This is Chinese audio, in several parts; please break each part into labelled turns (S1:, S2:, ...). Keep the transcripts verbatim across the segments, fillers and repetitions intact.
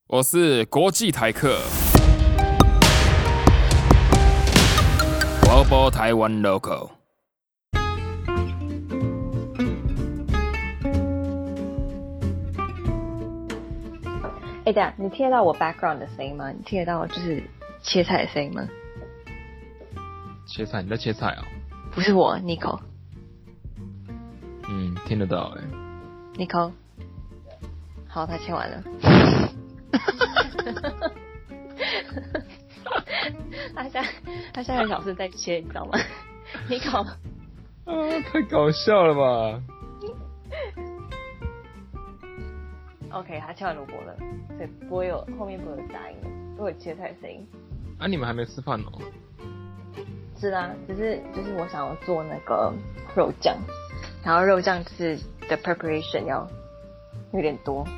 S1: 我是国际台客 Global Taiwan Local。
S2: 哎，等一下，你听得到我 background 的声音吗？你听得到就是切菜的声音吗？
S1: 切菜？你在切菜哦？
S2: 不是我 ，Nico。
S1: 嗯，听得到哎、
S2: 欸。Nico， 好，他切完了。他现在他现在很小声在切，你知道吗？Nico，
S1: 啊，太搞笑了吧
S2: ？OK， 他切完萝卜了，所以不会有后面不会有杂音，不会有切菜的声音。
S1: 啊，你们还没吃饭哦？
S2: 是啊，只是就是我想要做那个肉酱，然后肉酱就是的 preparation 要有点多。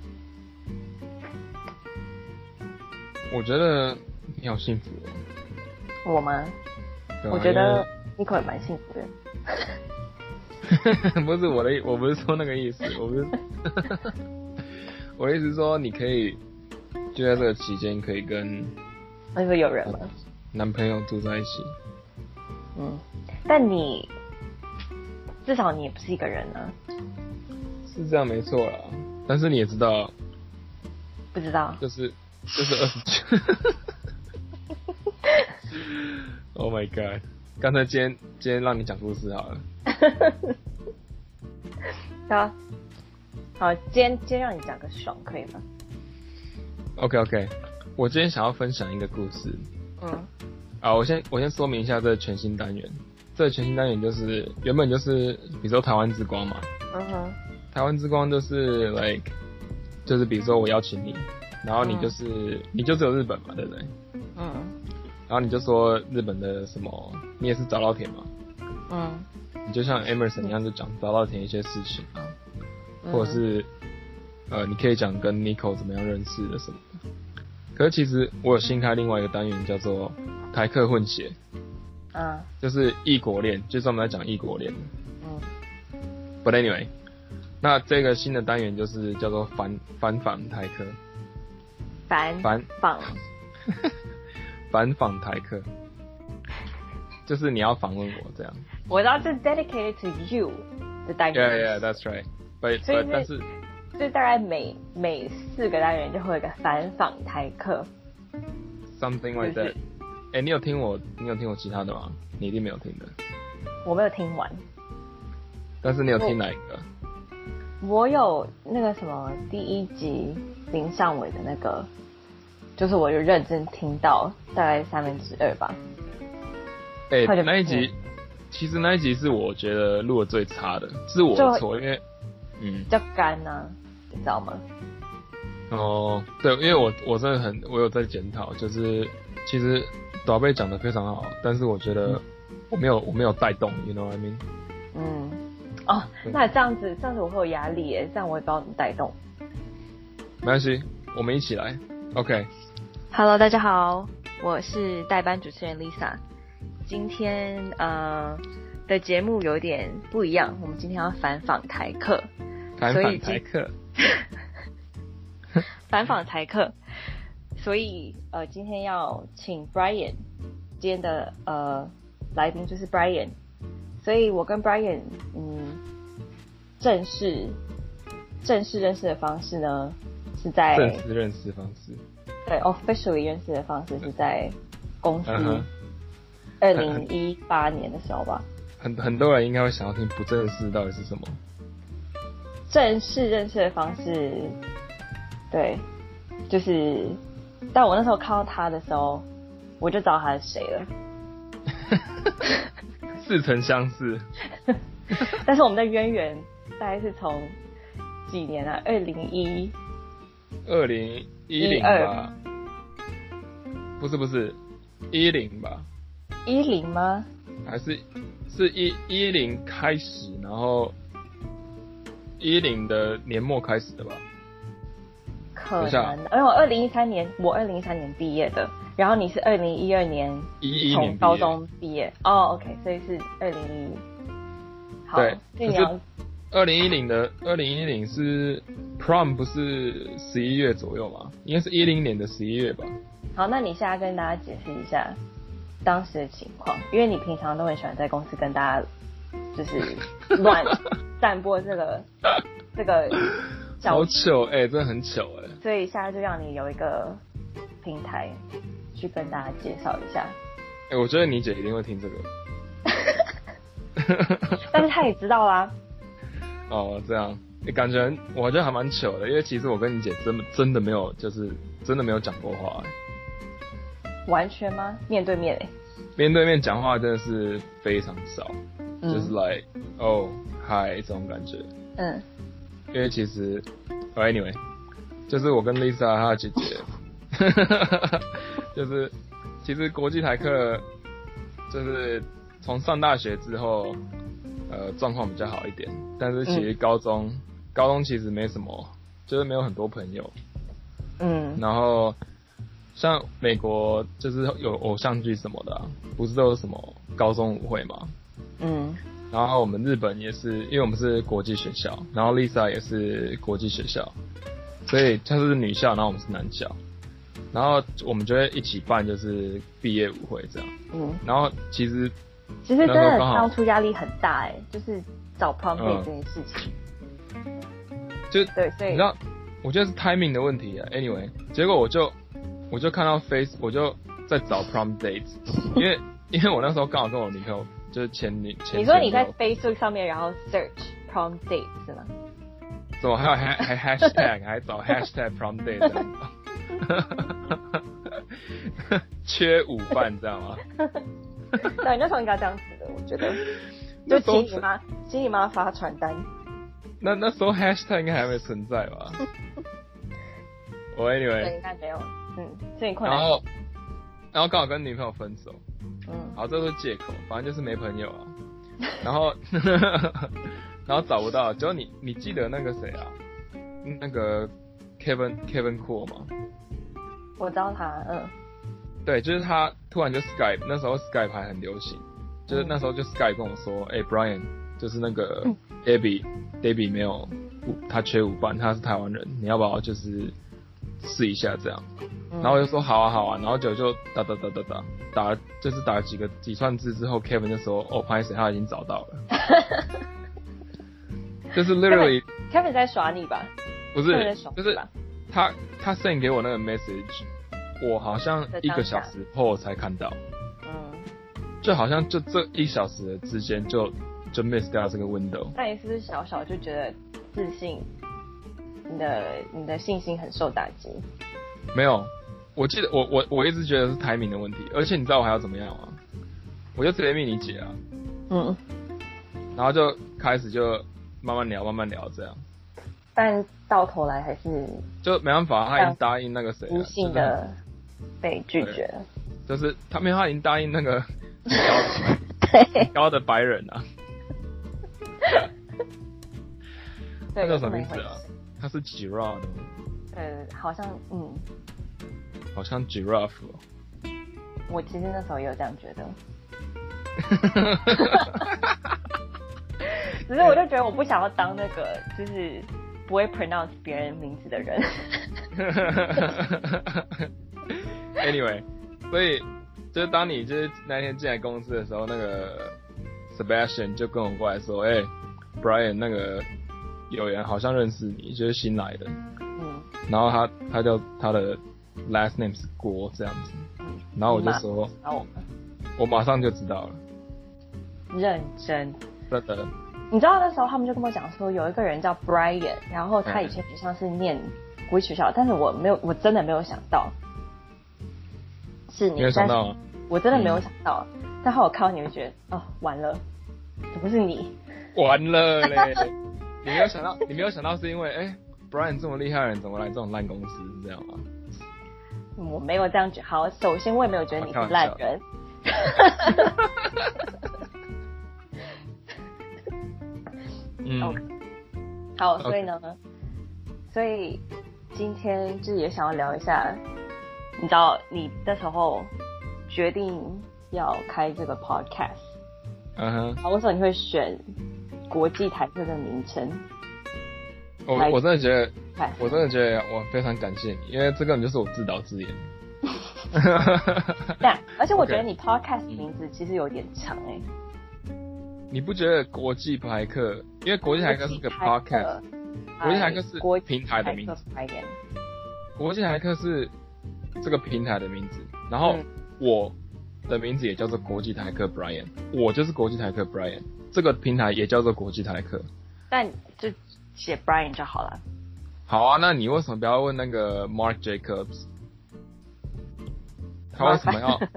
S1: 我觉得你好幸福
S2: 哦。我吗？啊、我觉得 Nico 也蛮幸福
S1: 的。不是我的，我不是说那个意思，我不是。我的意思是说，你可以就在这个期间可以跟，
S2: 那会有人吗？
S1: 男朋友住在一起。
S2: 嗯，但你至少你也不是一个人啊。
S1: 是这样没错啦，但是你也知道，
S2: 不知道，
S1: 就是就是二十九。Oh my god！ 刚才今天今天让你讲故事好了。
S2: 好，好，今天今天让你讲个爽，可以吗
S1: ？OK OK， 我今天想要分享一个故事。
S2: 嗯。
S1: 啊，我先我先说明一下这个全新单元。这个全新单元就是原本就是比如说台湾之光嘛。
S2: 嗯哼。
S1: 台湾之光就是 like 就是比如说我邀请你，然后你就是、嗯、你就只有日本嘛，对不对？
S2: 嗯。
S1: 然后你就说日本的什么，你也是早稻田嘛。
S2: 嗯。
S1: 你就像 Emerson 一样，就讲早稻田一些事情啊，嗯、或者是呃，你可以讲跟 Nico 怎么样认識的什么的。可是其實我有新開另外一個單元叫做台客混血，
S2: 嗯，
S1: 就是異國戀，就專門在講異國戀。
S2: 嗯。
S1: But anyway， 那這個新的單元就是叫做反反訪台客。
S2: 反
S1: 反
S2: 訪。
S1: 反訪台客，就是你要訪問我這樣。
S2: 我知道這是 dedicated to you 的單元。
S1: Yeah, yeah, that's right. But, but 但是。
S2: 就大概每每四个单元就会有一个反訪台客
S1: ，something like that。哎、欸，你有听我，你有听我其他的吗？你一定没有听的。
S2: 我没有听完。
S1: 但是你有听哪一个？
S2: 我, 我有那个什么第一集林尚伟的那个，就是我有认真听到大概三分之二吧。
S1: 哎、欸，那一集其实那一集是我觉得录的最差的，是我的错，因为嗯
S2: 比较干啊。你知道吗？
S1: 哦，对，因为我我真的很，我有在检讨，就是其实短贝讲的非常好，但是我觉得我没有我没有带动 ，you know what I mean？
S2: 嗯，哦，那这样子这样子我会有压力耶，这样我也不知道怎么带动。
S1: 没关系，我们一起来 ，OK。Hello，
S2: 大家好，我是代班主持人 Lisa。今天呃的节目有点不一样，我们今天要反訪台客。
S1: 反訪台客。
S2: 反訪台客，所以呃，今天要請 Brian， 今天的呃來賓就是 Brian， 所以我跟 Brian 嗯正式正式認識的方式呢是在
S1: 正式認識方式，
S2: 對 officially 認識的方式是在公司二零一八年的時候吧。
S1: 很很多人應該會想要聽不正式到底是什麼。
S2: 正式認識的方式，對，就是，但我那時候看到他的時候，我就知道他是誰了。
S1: 似曾相識。
S2: 但是我們的淵源大概是從幾年啊？二零一，
S1: 二零一零吧？不是不是，一零吧？
S2: 一零嗎？
S1: 還是是一一零開始，然後。一零的年末開始的吧？
S2: 可能，因為我二零一三年，我二零一三年畢業的，然後你是二零一二年從高中畢業。哦 ，OK， 所以是二零一。好，
S1: 對，
S2: 所以你要
S1: 二零一零的二零一零是 prom 不是十一月左右吗？应该是一零年的十一月吧。
S2: 好，那你现在跟大家解释一下当时的情况，因为你平常都很喜欢在公司跟大家就是乱散播这个这个
S1: 好糗哎、欸，真的很糗哎、欸。
S2: 所以现在就让你有一个平台去跟大家介绍一下。
S1: 哎、欸，我觉得你姐一定会听这个。
S2: 但是他也知道啦。
S1: 哦，这样，欸、感觉我觉得还蛮糗的，因为其实我跟你姐真真的没有，就是真的没有讲过话、欸。
S2: 完全吗？面对面哎。
S1: 面对面讲话真的是非常少，
S2: 嗯、
S1: 就是 like 哦 hi 这种感觉。
S2: 嗯。
S1: 因为其实、oh, ，anyway， 就是我跟 Lisa 她的姐姐，就是其实国际台客就是从上大学之后。呃，状况比较好一点，但是其实高中，嗯、高中其实没什么，就是没有很多朋友。
S2: 嗯。
S1: 然后，像美国就是有偶像剧什么的、啊，不是都有什么高中舞会嘛？
S2: 嗯。
S1: 然后我们日本也是，因为我们是国际学校，然后 Lisa 也是国际学校，所以她是女校，然后我们是男校，然后我们就会一起办就是毕业舞会这样。
S2: 嗯。
S1: 然后其实。
S2: 其实真的当初压力很大哎、欸，就是找 prom date 这件事情。
S1: 嗯、就
S2: 对，所以
S1: 你知道，我觉得是 timing 的问题啊。Anyway， 结果我就我就看到 Face， 我就在找 prom date， 因为因为我那时候刚好跟我女朋友就是前女前。
S2: 你说你在 Facebook 上面然后 search prom date 是吗？
S1: 怎么还有还还 hashtag 还找 hashtag prom date 这样缺舞伴这样吗？
S2: 对，那时候应该这样子的，我觉得，就请你妈，请你妈发传单。
S1: 那那时候 hashtag 应该还没存在吧？我 anyway，
S2: 对，应该没有，嗯，所以困难。
S1: 然后，然后刚好跟女朋友分手，
S2: 嗯，
S1: 好，这都是借口，反正就是没朋友啊。然后，然后找不到，结果你你记得那个谁啊？那个 Kevin Kevin Cool 吗？
S2: 我知道他，嗯。
S1: 对，就是他突然就 Skype， 那时候 Skype 还很流行，就是那时候就 Skype 跟我说，哎、欸、，Brian， 就是那个 Debbie， Debbie 没有，他缺舞伴，他是台湾人，你要不要就是试一下这样？然后我就说好啊好啊，然后就就打打打打打打，就是打了几个几串字之后 ，Kevin 就说，哦，拍谁他已经找到了，就是 literally
S2: Kevin 在耍你吧？
S1: 不是，就是他他 send 给我那个 message。我好像一个小时后才看到，
S2: 嗯，
S1: 就好像就这一小时的之间就就 miss 掉这个 window。
S2: 那你是不是小小就觉得自信，你的你的信心很受打击？
S1: 没有，我记得我我我一直觉得是 timing 的问题，而且你知道我还要怎么样吗？我就直接密你姐啊，
S2: 嗯，
S1: 然后就开始就慢慢聊慢慢聊这样。
S2: 但到头来还是
S1: 就没办法，他已经答应那个谁了，
S2: 无性的被拒绝了。
S1: 就是他没有，他已经答应那个很高的很高的白人啊。他叫什么名字啊？他是 Giraffe 的吗？
S2: 呃，好像嗯，
S1: 好像 Giraffe 哦。
S2: 我其实那时候也有这样觉得。只是我就觉得我不想要当那个就是不会 pronounce 别人名字的人。
S1: Anyway， 所以就是当你就是那天进来公司的时候，那个 Sebastian 就跟我过来说：“哎、欸、，Brian， 那个有人好像认识你，就是新来的。”
S2: 嗯。然
S1: 后他他叫他的 last name 是郭这样子。嗯。然后我就说：“
S2: 我
S1: 我马上就知道了。”
S2: 认真。
S1: 真的。
S2: 你知道那时候他们就跟我讲说，有一个人叫 Brian， 然后他以前好像是念国际学校，但是我没有，我真的没有想到是你。
S1: 没有想到、啊，
S2: 我真的没有想到。嗯、但后我看到你会觉得，哦，完了，怎么是你？
S1: 完了嘞！你没有想到，你没有想到是因为，哎、欸、，Brian 这么厉害的人，怎么来这种烂公司？是这样吗？
S2: 我没有这样觉得。好，首先我也没有觉得你是烂人。
S1: 嗯，
S2: okay. 好，所以呢， okay. 所以今天就是也想要聊一下，你知道你那时候决定要开这个 podcast，
S1: 嗯哼，
S2: 啊，为什么你会选国际台客的名称。
S1: 我我真的觉得，我真的觉得我非常感谢你，因为这根本就是我自导自演。
S2: 对，而且我觉得你 podcast 名字其实有点长哎、欸。
S1: 你不觉得国际台客？因为国际台客是个 podcast， 国际台客是平台的名字。国际台客是这个平台的名字，然后我的名字也叫做国际台客 Brian， 我就是国际台客 Brian， 这个平台也叫做国际台客。
S2: 但就写 Brian 就好了。
S1: 好啊，那你为什么不要问那个 Mark Jacobs？ 他为什么要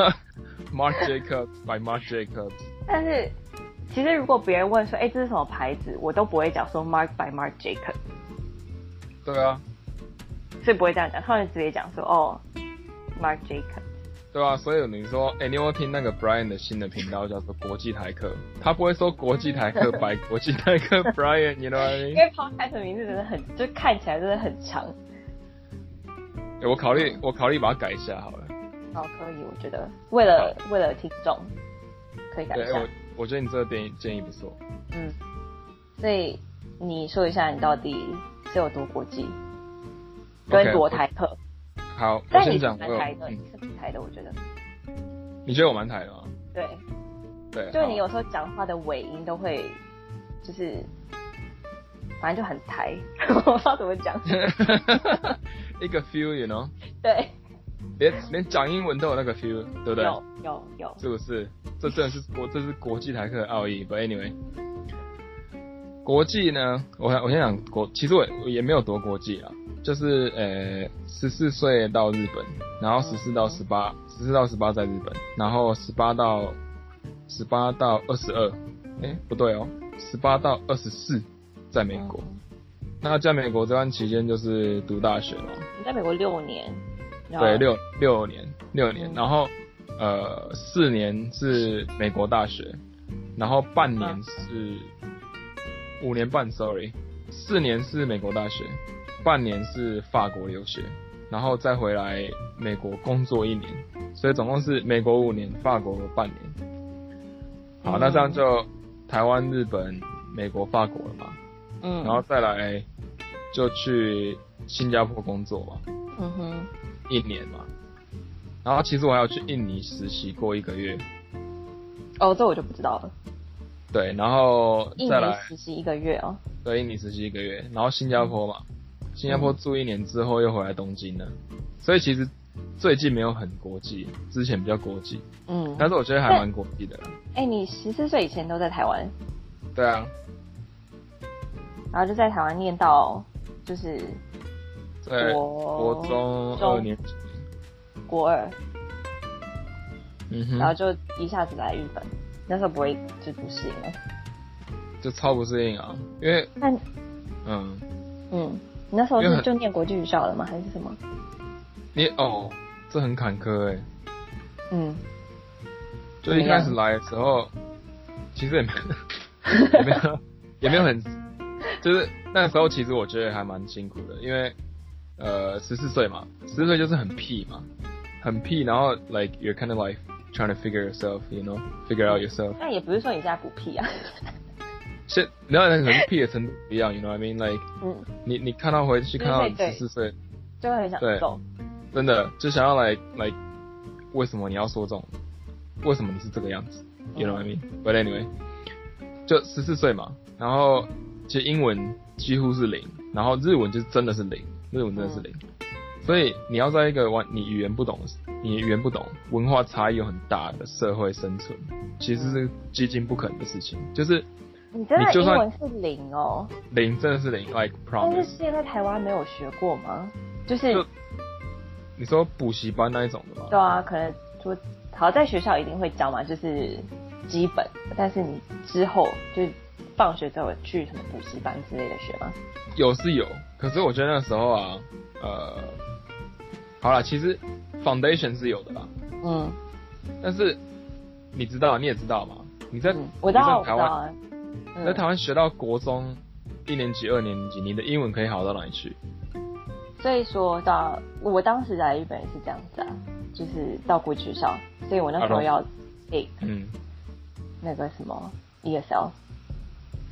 S1: Mark Jacobs by Mark Jacobs？
S2: 但是其实如果别人问说，哎、欸，这是什么牌子，我都不会讲说 Mark by Marc Jacobs。
S1: 对啊，
S2: 所以不会这样讲，他们直接讲说，哦 ，Marc Jacobs。
S1: 对啊，所以你说，哎、欸，你有没有听那个 Brian 的新的频道叫做国际台客？他不会说国际台客 by 国际台客 Brian， you know what I mean？ 因
S2: 为 podcast 的名字真的很，就看起来真的很长。
S1: 欸、我考虑，我考虑把它改一下好了。
S2: 好，可以，我觉得为了为了听众，可以改一下。
S1: 对，我我觉得你这个建议建议不错。
S2: 嗯，所以你说一下你到底是有多国际，跟多台客。
S1: Okay, 好，我先讲。
S2: 但你是蛮台的，你是蛮台的，我觉得。
S1: 你觉得我蛮台的吗？
S2: 对。
S1: 对。
S2: 就是你有时候讲话的尾音都会，就是反正就很台，我不知道怎么讲。
S1: 一个 feel，you know？
S2: 对。
S1: 连连讲英文都有那个 feel， 对不对？
S2: 有有有，
S1: 是不是？这真的是国，这是国际台客的奥义。But anyway， 国际呢，我我先讲国，其实我我也没有多国际啊，就是呃十四岁到日本，然后十四到十八，十四到十八在日本，然后十八到十八到二十二，哎不对哦，十八到二十四在美国。嗯、那在美国这段期间就是读大学嘛。
S2: 你在美国六年。
S1: 对，六六年，六年，然后呃四年是美国大学，然后半年是五年半 ，sorry， 四年是美国大学，半年是法国留学，然后再回来美国工作一年，所以总共是美国五年，法国半年。好，那这样就台湾、日本、美国、法国了嘛，嗯，然后再来就去新加坡工作嘛，嗯哼。一年嘛，然后其实我还有去印尼实习过一个月。
S2: 哦，这我就不知道了。
S1: 对，然后再来
S2: 印尼实习一个月哦。
S1: 对，印尼实习一个月，然后新加坡嘛，新加坡住一年之后又回来东京了，所以其实最近没有很国际，之前比较国际。嗯，但是我觉得还蛮国际的啦。
S2: 哎、欸，你十四岁以前都在台湾？
S1: 对啊。
S2: 然后就在台湾念到就是。
S1: 对，国中二年级，
S2: 国二，
S1: 嗯哼，
S2: 然后就一下子来日本，那时候不会就不适应了，
S1: 就超不适应啊，因为，
S2: 那，
S1: 嗯，
S2: 嗯，你那时候是就念国际学校了吗？还是什么？
S1: 你哦，这很坎坷哎、欸，
S2: 嗯，
S1: 就一开始来的时候，其实也没也没有也没有很，就是那时候其实我觉得还蛮辛苦的，因为。呃，十四岁嘛，十四岁就是很屁嘛，很屁，然后 like you're kind of like trying to figure yourself, you know, figure out yourself。
S2: 那也不是说你现在不屁啊。
S1: 现，然后可能屁的程度不一样 ，you know what I mean? Like，嗯，你你看到回去看到十四岁，
S2: 就会很想揍。
S1: 真的就想要 like like， 为什么你要说这种？为什么你是这个样子 ？You know what I mean? But anyway， 就十四岁嘛，然后其实英文几乎是零，然后日文就是真的是零。日文真的是零、嗯，所以你要在一个完你语言不懂、你语言不懂、文化差异有很大的社会生存，其实是几近不可能的事情。就是
S2: 你真的英文是零哦，
S1: 零真的是零 ，like promise。
S2: 但是现在台湾没有学过吗？就是
S1: 就你说补习班那一种的吗？
S2: 对啊，可能说好在学校一定会教嘛，就是基本，但是你之后就放学之后去什么补习班之类的学吗？
S1: 有是有，可是我觉得那时候啊，呃，好啦，其实 foundation 是有的啦，嗯，但是你知道，你也知道嘛，你在、嗯、
S2: 我知道，
S1: 你在台湾，
S2: 啊
S1: 嗯、在台湾学到国中一年级、二年级，你的英文可以好到哪里去？
S2: 所以说到我当时来日本也是这样子啊，就是到国际学校，所以我那时候要 take 嗯那个什么 E S L。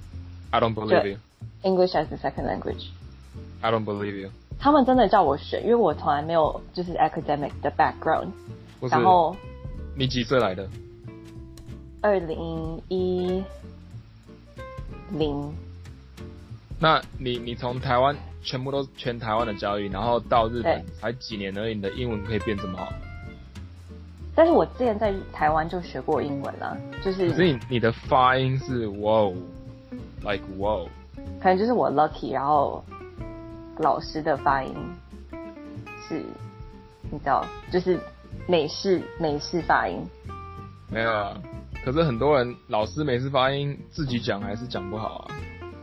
S1: I don't believe you.
S2: English as a second language.
S1: I don't believe you.
S2: 他们真的叫我选，因为我从来没有就是 academic 的 background。然后
S1: 你几岁来的？
S2: 二零一零。
S1: 那你你从台湾全部都是全台湾的教育，然后到日本才几年而已，你的英文可以变这么好？
S2: 但是我之前在台湾就学过英文啦，就是。
S1: 可是你你的发音是 wow，like wow。
S2: 可能就是我 lucky， 然后老师的发音是，你知道，就是美式美式发音。
S1: 没有啊，可是很多人老师美式发音自己讲还是讲不好啊。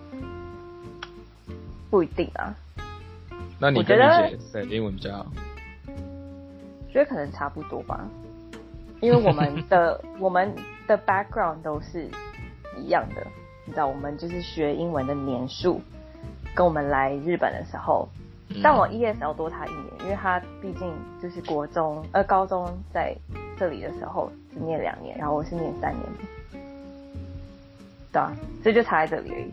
S2: 不一定啊。
S1: 那你跟你姐谁英文比较好？
S2: 觉得可能差不多吧，因为我们的我们的 background 都是一样的，你知道，我们就是学英文的年数，跟我们来日本的时候，嗯、但我 E S L 多他一年，因为他毕竟就是国中呃高中在这里的时候只念两年，然后我是念三年，对啊，所以就差在这里而已。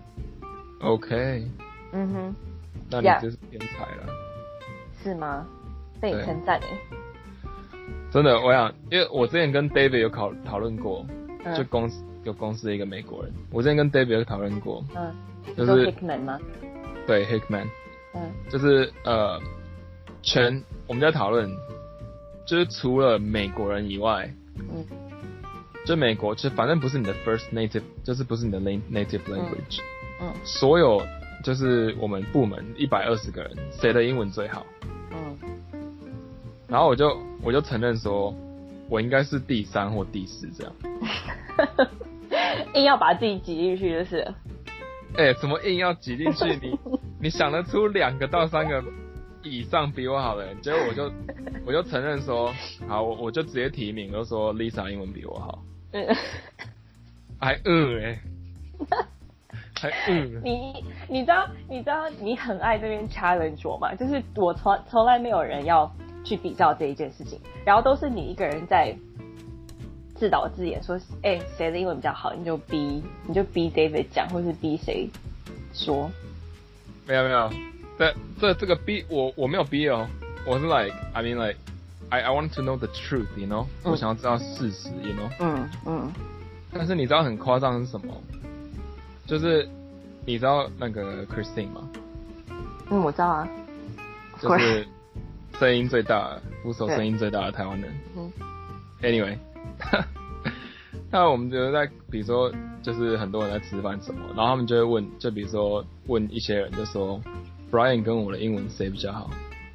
S1: OK。
S2: 嗯哼。
S1: 那你真是天才了。Yeah. 是
S2: 吗？被你称赞诶。
S1: 真的，我想，因为我之前跟 David 有讨讨论过，嗯、就公司有公司的一个美国人，我之前跟 David 有讨论过，
S2: 嗯，
S1: 就是
S2: Hickman 吗？
S1: 对 ，Hickman，
S2: 嗯，
S1: 就是呃，全我们在讨论，就是除了美国人以外，
S2: 嗯，
S1: 就美国，就反正不是你的 first native， 就是不是你的 native language，
S2: 嗯，嗯
S1: 所有就是我们部门一百二十个人，谁的英文最好？
S2: 嗯。
S1: 然后我就我就承认说，我应该是第三或第四这样。
S2: 硬要把自己挤进去就是。
S1: 哎、欸，怎么硬要挤进去？你你想得出两个到三个以上比我好的人，结果我就我就承认说，好，我我就直接提名，我就说 Lisa 英文比我好。
S2: 嗯。
S1: 还饿哎、欸。还饿。
S2: 你你知道你知道你很爱这边 challenge 我吗？就是我从从来没有人要去比较这一件事情，然后都是你一个人在自导自演说，哎、欸，谁的英文比较好，你就逼你就逼 David 讲，或是逼谁说。
S1: 没有没有，这这这个逼我我没有逼哦，我是 like I mean like I I want to know the truth, you know，、嗯、我想要知道事实 ，you know。
S2: 嗯嗯。
S1: 但是你知道很夸张是什么？就是你知道那个 Christine 吗？
S2: 嗯，我知道啊。
S1: 就是声音最大的，鼓手声音最大的台湾人。
S2: 嗯。
S1: Anyway， 那我们就在比如说，就是很多人在吃饭什么，然后他们就会问，就比如说问一些人，就说 Brian 跟我的英文谁比较好？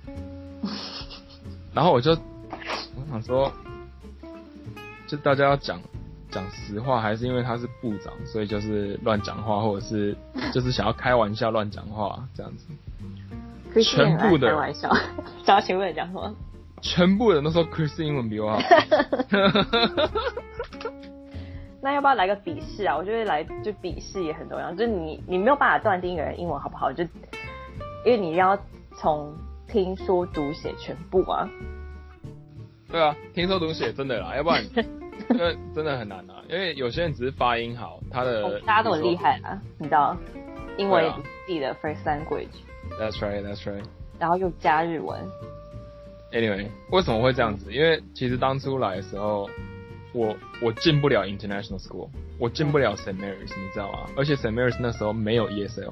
S1: 然后我就我想说，就大家要讲。讲实话，还是因为他是部长，所以就是乱讲话，或者是就是想要开玩笑乱讲话这样子。全部的
S2: 开玩笑，想要全部人讲什么？
S1: 全部人都说 Chris 英文比我好。
S2: 那要不要来个笔试啊？我觉得来就笔试也很重要，就是你你没有办法断定一个人英文好不好，就因为你要从听说读写全部啊。
S1: 对啊，听说读写真的啦，要不然。因为真的很难啊，因为有些人只是发音好，他的、
S2: 哦、大家都很厉害啊，你知道，英文也不是自己的 first language。That's
S1: right, that's right。
S2: 然后又加日文。
S1: Anyway， 为什么会这样子？因为其实当初来的时候，我我进不了 international school， 我进不了 Saint Mary's， 你知道吗？而且 Saint Mary's 那时候没有 E S L。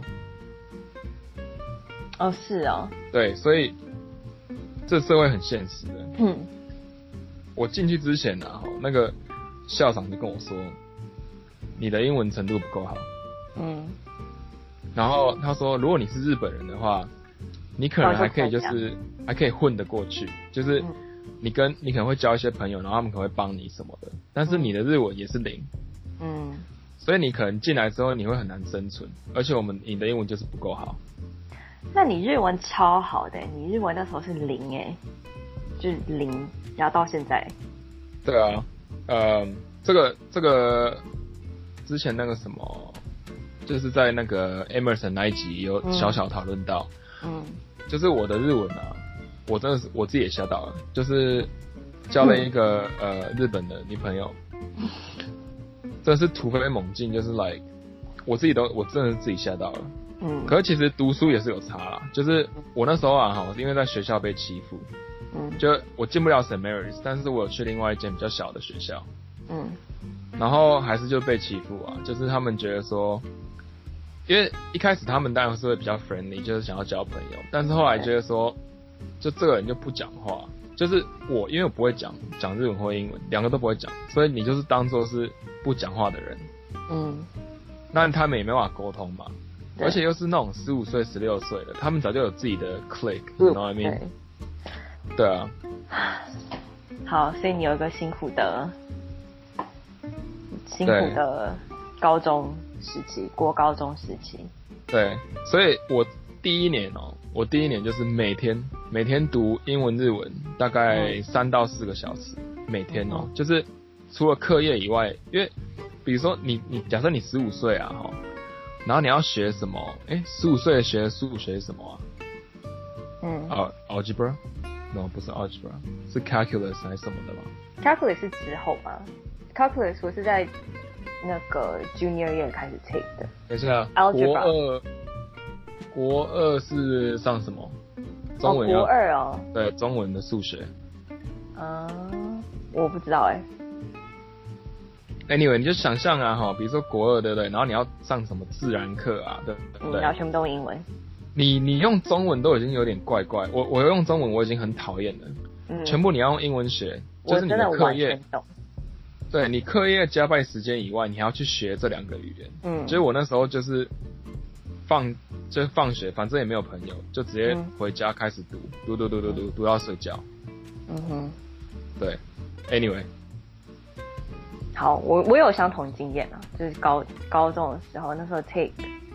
S2: 哦，是哦。
S1: 对，所以这社会很现实的。
S2: 嗯。
S1: 我进去之前啊，那个校长就跟我说，你的英文程度不够好。
S2: 嗯。
S1: 然后他说，如果你是日本人的话，你可能还可以就是还可以混得过去，就是你跟你可能会交一些朋友，然后他们可能会帮你什么的。但是你的日文也是零。
S2: 嗯。
S1: 所以你可能进来之后你会很难生存，而且我们你的英文就是不够好。
S2: 那你日文超好的，你日文那时候是零哎。就是零，然后到现在。
S1: 对啊，呃，这个这个之前那个什么，就是在那个 Emerson 那一集有小小讨论到，
S2: 嗯，
S1: 就是我的日文啊，我真的是我自己也吓到了，就是交了一个、嗯、呃日本的女朋友，真的是突飞猛进，就是 like 我自己都我真的是自己吓到了。
S2: 嗯，
S1: 可是其实读书也是有差啦，就是我那时候啊哈，因为在学校被欺负，
S2: 嗯，
S1: 就我进不了 Saint Mary's， 但是我有去另外一间比较小的学校，
S2: 嗯，
S1: 然后还是就被欺负啊，就是他们觉得说，因为一开始他们当然是会比较 friendly， 就是想要交朋友，但是后来觉得说，就这个人就不讲话，就是我因为我不会讲讲日文或英文，两个都不会讲，所以你就是当做是不讲话的人，
S2: 嗯，
S1: 那他们也没办法沟通嘛。而且又是那种十五岁、十六岁的，他们早就有自己的 clique，you know what I mean？ 对啊。
S2: 好，所以你有一个辛苦的、辛苦的高中时期，国高中时期。
S1: 对，所以我第一年哦、喔，我第一年就是每天每天读英文、日文，大概三到四个小时，每天哦、喔，就是除了课业以外，因为比如说你你假设你十五岁啊哈。然后你要学什么？哎，十五岁学数学什么啊？
S2: 嗯。
S1: 啊、uh, ，algebra？No， 不是 algebra， 是 calculus 还是什么的吗
S2: ？calculus 是之后吗 ？calculus 我是在那个 junior year 开始 take 的。
S1: 等一下，
S2: algebra
S1: 国二，国二是上什么？中文
S2: 要、哦、国二哦。
S1: 对，中文的数学。
S2: 嗯，我不知道哎。
S1: Anyway， 你就想象啊，哈，比如说国二，对不对？然后你要上什么自然课啊，对不对？
S2: 嗯，然后全部都英文。
S1: 你你用中文都已经有点怪怪，我我用中文我已经很讨厌了。嗯。全部你要用英文学，就是你的课业。对，你课业加班时间以外，你还要去学这两个语言。嗯。所以我那时候就是放就是放学，反正也没有朋友，就直接回家开始读，读读读读读读到睡觉。
S2: 嗯哼。
S1: 对 ，Anyway。
S2: 好，我我有相同经验啊，就是高高中的时候，那时候 take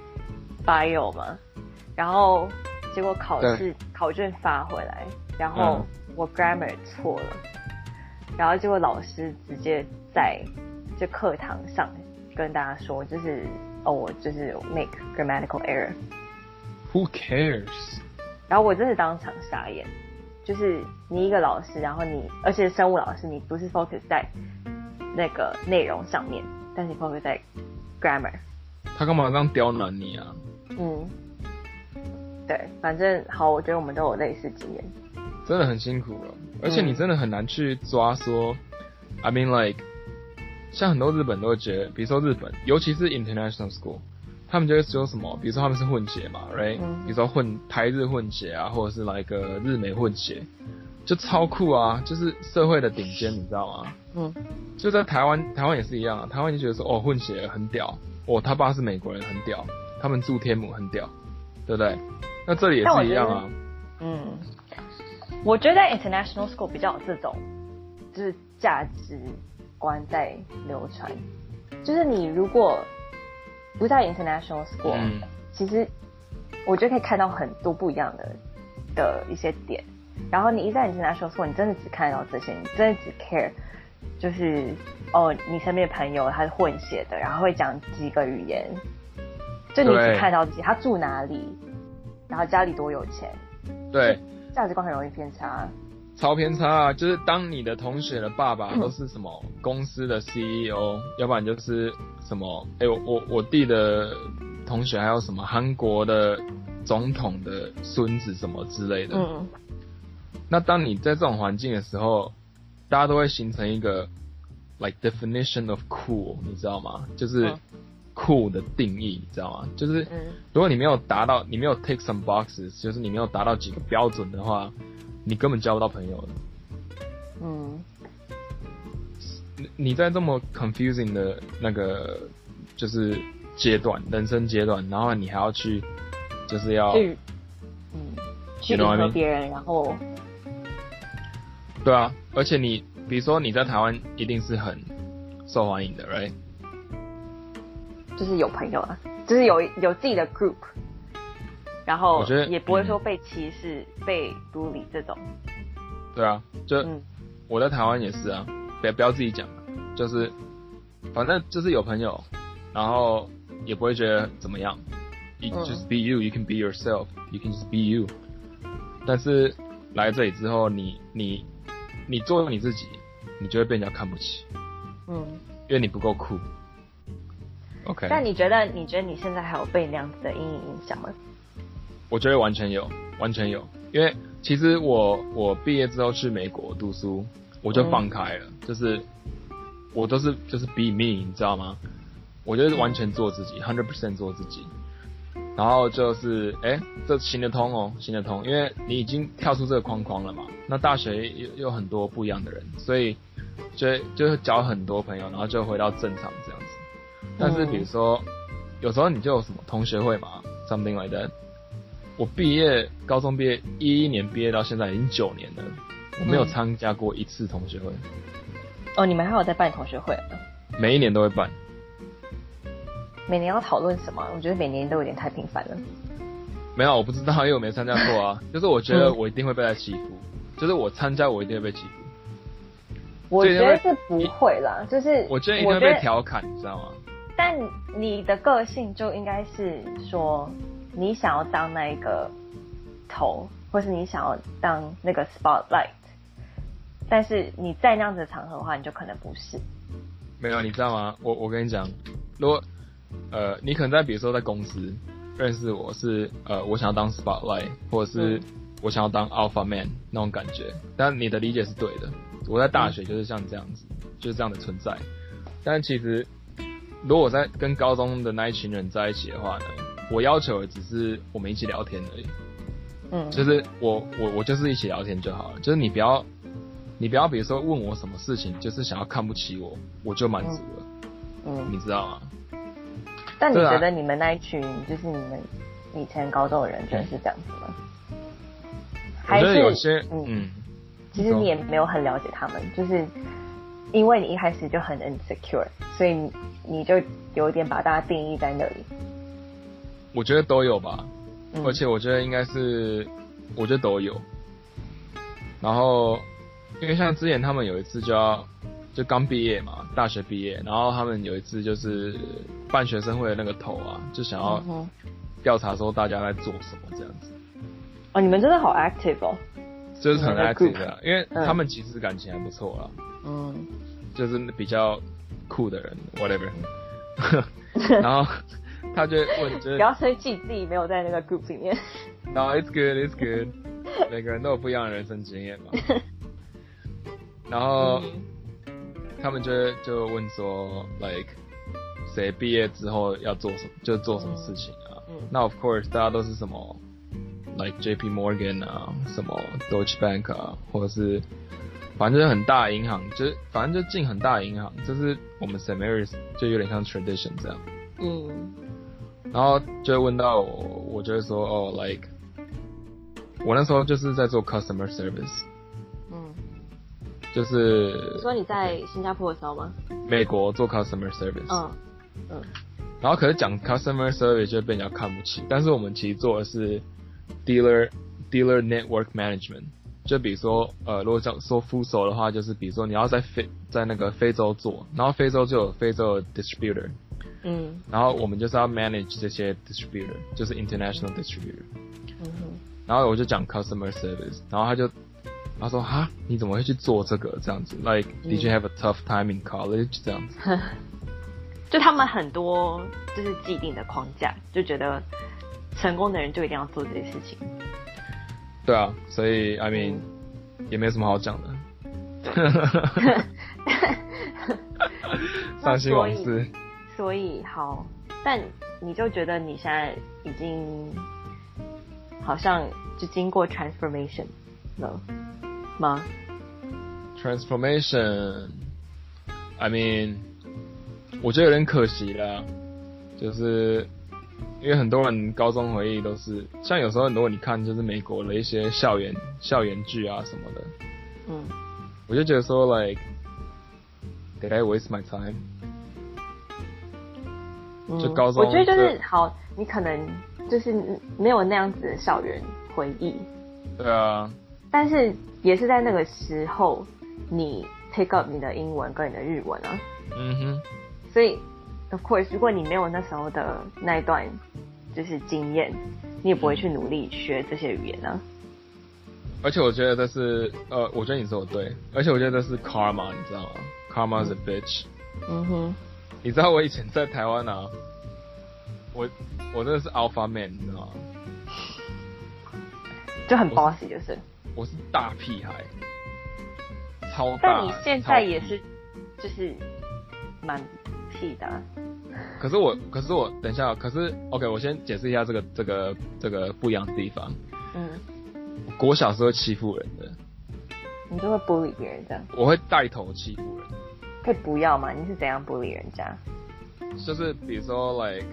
S2: bio 嘛，然后结果考试考卷发回来，然后我 grammar 错了，然后结果老师直接在就课堂上跟大家说，就是哦，我就是 make grammatical error。Who
S1: cares？
S2: 然后我真的当场傻眼，就是你一个老师，然后你而且生物老师，你不是 focus 在那个内容上面，但是你 focus 在 grammar。
S1: 他干嘛这样刁难你啊？
S2: 嗯，对，反正好，我觉得我们都有类似经验。
S1: 真的很辛苦了，而且你真的很难去抓说、嗯、，I mean like， 像很多日本都会觉得，比如说日本，尤其是 international school， 他们就会说什么，比如说他们是混血嘛 ，right？、嗯、比如说混台日混血啊，或者是来一个日美混血。就超酷啊，就是社会的顶尖，你知道吗？嗯，就在台湾，台湾也是一样啊。台湾就觉得说，哦，混血很屌，哦，他爸是美国人，很屌，他们住天母很屌，对不对？那这里也是一样啊。
S2: 嗯，我觉得在 international school 比较有这种，就是价值观在流传。就是你如果不在 international school，、嗯、其实我觉得可以看到很多不一样的的一些点。然后你一在 international school， 你真的只看到这些，你真的只 care， 就是哦，你身边的朋友他是混血的，然后会讲几个语言，就你只看到这些，他住哪里，然后家里多有钱，
S1: 对，
S2: 价值观很容易偏差，
S1: 超偏差啊！就是当你的同学的爸爸都是什么公司的 C E O，、嗯、要不然就是什么，哎、欸，我我我弟的同学还有什么韩国的总统的孙子什么之类的，嗯。那当你在这种环境的时候，大家都会形成一个 like definition of cool， 你知道吗？就是 cool 的定义，你知道吗？就是如果你没有达到，你没有 take some boxes， 就是你没有达到几个标准的话，你根本交不到朋友的。嗯。你在这么 confusing 的那个就是阶段，人生阶段，然后你还要去，就是要，
S2: 嗯，去迎合别人，然后。
S1: 对啊，而且你比如说你在台湾一定是很受欢迎的 ，right？
S2: 就是有朋友啊，就是有有自己的 group， 然后也不会说被歧视、嗯、被 bully 这种。
S1: 对啊，就、嗯、我在台湾也是啊，不不要自己讲，就是反正就是有朋友，然后也不会觉得怎么样。You just be you, you can be yourself, you can just be you。但是来这里之后，你你。你做你自己，你就会被人家看不起，嗯，因为你不够酷。 OK。
S2: 但你觉得，你觉得你现在还有被那样子的阴影影响吗？
S1: 我觉得完全有，完全有，因为其实我我毕业之后去美国读书，我就放开了，嗯、就是我都是就是 be me， 你知道吗？我就是完全做自己 ，one hundred percent 做自己。然后就是哎，这行得通哦，行得通，因为你已经跳出这个框框了嘛。那大学又有很多不一样的人，所以就就交很多朋友，然后就回到正常这样子。但是比如说，嗯、有时候你就有什么同学会嘛 ，something like that。我毕业，高中毕业一一年毕业到现在已经九年了，我没有参加过一次同学会。
S2: 哦，你们还有在办同学会啊？
S1: 每一年都会办。
S2: 每年要讨论什么？我觉得每年都有点太频繁了。
S1: 没有，我不知道，因为我没参加过啊。就是我觉得我一定会被他欺负，嗯、就是我参加我一定会被欺负。
S2: 我觉得是不会啦，就是
S1: 我觉得一定会被调侃，你知道吗？
S2: 但你的个性就应该是说，你想要当那个头，或是你想要当那个 spotlight， 但是你在那样子的场合的话，你就可能不是。
S1: 没有，你知道吗？我我跟你讲，如果呃，你可能在比如说在公司认识我是呃，我想要当 spotlight， 或者是我想要当 alpha man 那种感觉，但你的理解是对的。我在大学就是像这样子，嗯、就是这样的存在。但其实，如果我在跟高中的那一群人在一起的话呢，我要求的只是我们一起聊天而已。嗯，就是我我我就是一起聊天就好了，就是你不要你不要比如说问我什么事情，就是想要看不起我，我就满足了。嗯，你知道吗？
S2: 但你觉得你们那一群，就是你们以前高中的人，真的是这样子吗？
S1: 我觉得有些，嗯，
S2: 嗯其实你也没有很了解他们，就是因为你一开始就很 insecure， 所以你你就有一点把大家定义在那里。
S1: 我觉得都有吧，嗯、而且我觉得应该是，我觉得都有。然后，因为像之前他们有一次就要。就刚毕业嘛，大学毕业，然后他们有一次就是办学生会的那个头啊，就想要调查说大家在做什么这样子。
S2: 哦，你们真的好 active 哦。
S1: 就是很 active 的、啊，因为他们其实感情还不错啦。嗯。就是比较酷的人 ，whatever 。然后他就问，就是
S2: 不要生气，自己没有在那个 group 里面。
S1: No, it's good, it's good。每个人都有不一样的人生经验嘛。然后。嗯他们就就问说 ，like 谁毕业之后要做什么，就做什么事情啊？嗯嗯、那 of course 大家都是什么 ，like J P Morgan 啊，什么 Deutsche Bank 啊，或者是反正就是很大的银行，就是反正就进很大的银行，就是我们 Saint Mary's 就有点像 tradition 这样。嗯。然后就问到我，我就会说哦 ，like 我那时候就是在做 customer service。就是
S2: 你说你在新加坡的时候吗？
S1: 美国做 customer service， 嗯嗯，然后可是讲 customer service 就被人家看不起，但是我们其实做的是 dealer dealer network management， 就比如说呃，如果讲说 full手的话，就是比如说你要在非在那个非洲做，然后非洲就有非洲的 distributor， 嗯，然后我们就是要 manage 这些 distributor， 就是 international distributor， 嗯哼，然后我就讲 customer service， 然后他就。他说：“哈，你怎么会去做这个？这样子 ，like did you have a tough time in college？ 这样子，
S2: 就他们很多就是既定的框架，就觉得成功的人就一定要做这些事情。
S1: 对啊，所以 I mean、嗯、也没什么好讲的。伤心往事。
S2: 所以好，但你就觉得你现在已经好像就经过 transformation 了。”吗
S1: ？Transformation, I mean， 我觉得有点可惜啦，就是因为很多人高中回忆都是，像有时候很多你看就是美国的一些校园校园剧啊什么的，嗯，我就觉得说 like did I waste my time？、嗯、就高中，
S2: 我觉得就是好，你可能就是没有那样子的校园回忆，
S1: 对啊，
S2: 但是。也是在那个时候，你 take up 你的英文跟你的日文啊。嗯哼。所以 ，of course， 如果你没有那时候的那一段就是经验，你也不会去努力学这些语言啊。
S1: 而且我觉得这是，呃，我觉得你说的对，而且我觉得这是 karma， 你知道吗 ？Karma is a bitch。嗯哼。 你知道我以前在台湾啊，我我真的是 alpha man， 你知道吗？
S2: 就很 bossy 就是。
S1: 我是大屁孩，超大。
S2: 但你现在也是，就是蛮屁的、啊。
S1: 可是我，可是我，等一下，可是 OK， 我先解释一下这个这个这个不一样的地方。嗯。国小是会欺负人的。
S2: 你就会 bully 别人这样？
S1: 我会带头欺负人。
S2: 可以不要吗？你是怎样 bully 人家？
S1: 就是比如说 like，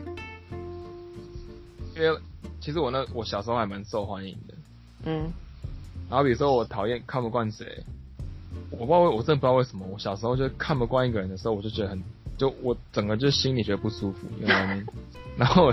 S1: 因为其实我那我小时候还蛮受欢迎的。嗯。然后比如说我讨厌看不惯谁，我不知道我真的不知道为什么，我小时候就看不惯一个人的时候，我就觉得很，就我整个就心里觉得不舒服，你知道吗？然后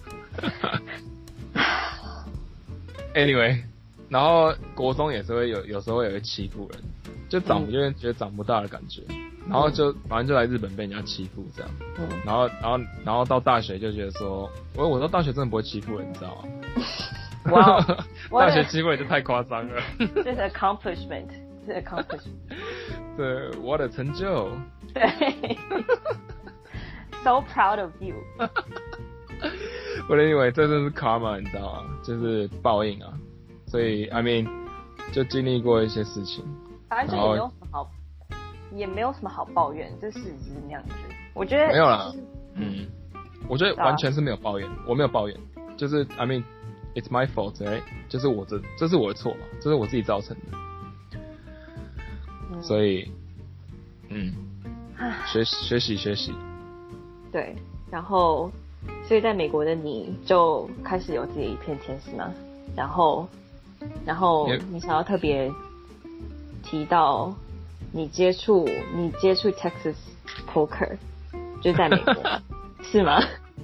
S1: ，anyway， 然后国中也是会有有时候也会欺负人，就长有点觉得长不大的感觉，然后就反正就来日本被人家欺负这样，然后然后然后到大学就觉得说，我我到大学真的不会欺负人，你知道吗？
S2: 哇！
S1: 大学机会就太夸张了。
S2: 这是 accomplishment， 这是 accomplishment。
S1: 对，我的成就。
S2: 对。So proud of you。
S1: 我认为这真是 karma， 你知道吗？就是报应啊。所以 I mean， 就经历过一些事情。
S2: 反正就也没有什么好，也没有什么好抱怨，这事实是那样子。我觉得
S1: 没有啦。嗯，我觉得完全是没有抱怨，我没有抱怨，就是 I mean。It's my fault, right? 就是我这这是我的错嘛，这是我自己造成的。嗯、所以，嗯，学学习学习。
S2: 对，然后，所以在美国的你就开始有自己的一片天是吗？然后，然后你想要特别提到你接触你接触 Texas Poker， 就是在美国，是吗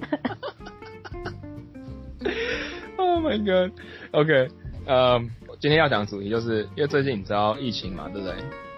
S1: ？Oh my god! OK， 呃、um, 今天要讲的主题就是因为最近你知道疫情嘛，对不对？